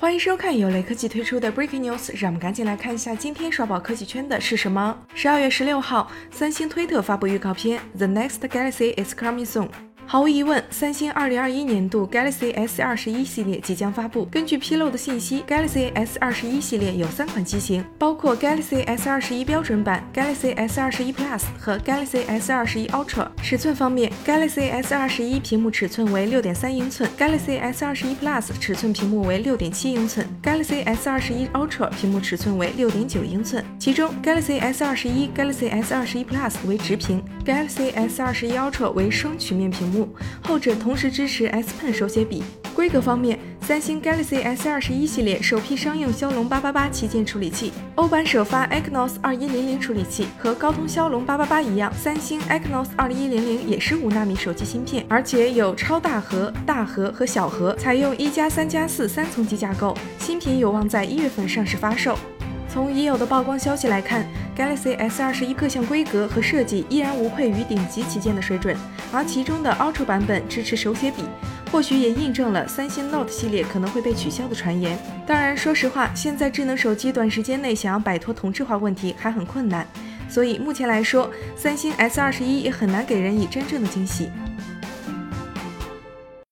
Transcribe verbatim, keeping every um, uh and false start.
欢迎收看由雷科技推出的 Breaking News， 让我们赶紧来看一下今天刷爆科技圈的是什么。十二月十六号，三星推特发布预告片 The Next Galaxy is coming soon。毫无疑问，三星二零二一年度 Galaxy S 二十一系列即将发布。根据披露的信息 ，Galaxy S 二十一系列有三款机型，包括 Galaxy S 二十一标准版、Galaxy S 二十一 Plus 和 Galaxy S 二十一 Ultra。尺寸方面 ，Galaxy S 二十一屏幕尺寸为 六点三英寸 ，Galaxy S 二十一 Plus 尺寸屏幕为 六点七英寸 ，Galaxy S 二十一 Ultra 屏幕尺寸为 六点九英寸。其中 Galaxy S 二十一、Galaxy S 二十一 Plus 为直屏 ，Galaxy S 二十一 Ultra 为双曲面屏幕。后者同时支持 S Pen 手写笔。规格方面，三星 Galaxy S 二十一系列首批商用骁龙八八八旗舰处理器，欧版首发 Exynos 二一零零处理器，和高通骁龙八八八一样，三星 Exynos 二一零零也是五纳米手机芯片，而且有超大核、大核和小核，采用一加三加四三层级架构，新品有望在一月份上市发售。从已有的曝光消息来看 ，Galaxy S 二十一各项规格和设计依然无愧于顶级旗舰的水准，而其中的 Ultra 版本支持手写笔，或许也印证了三星 Note 系列可能会被取消的传言。当然，说实话，现在智能手机短时间内想要摆脱同质化问题还很困难，所以目前来说，三星 S 二十一也很难给人以真正的惊喜。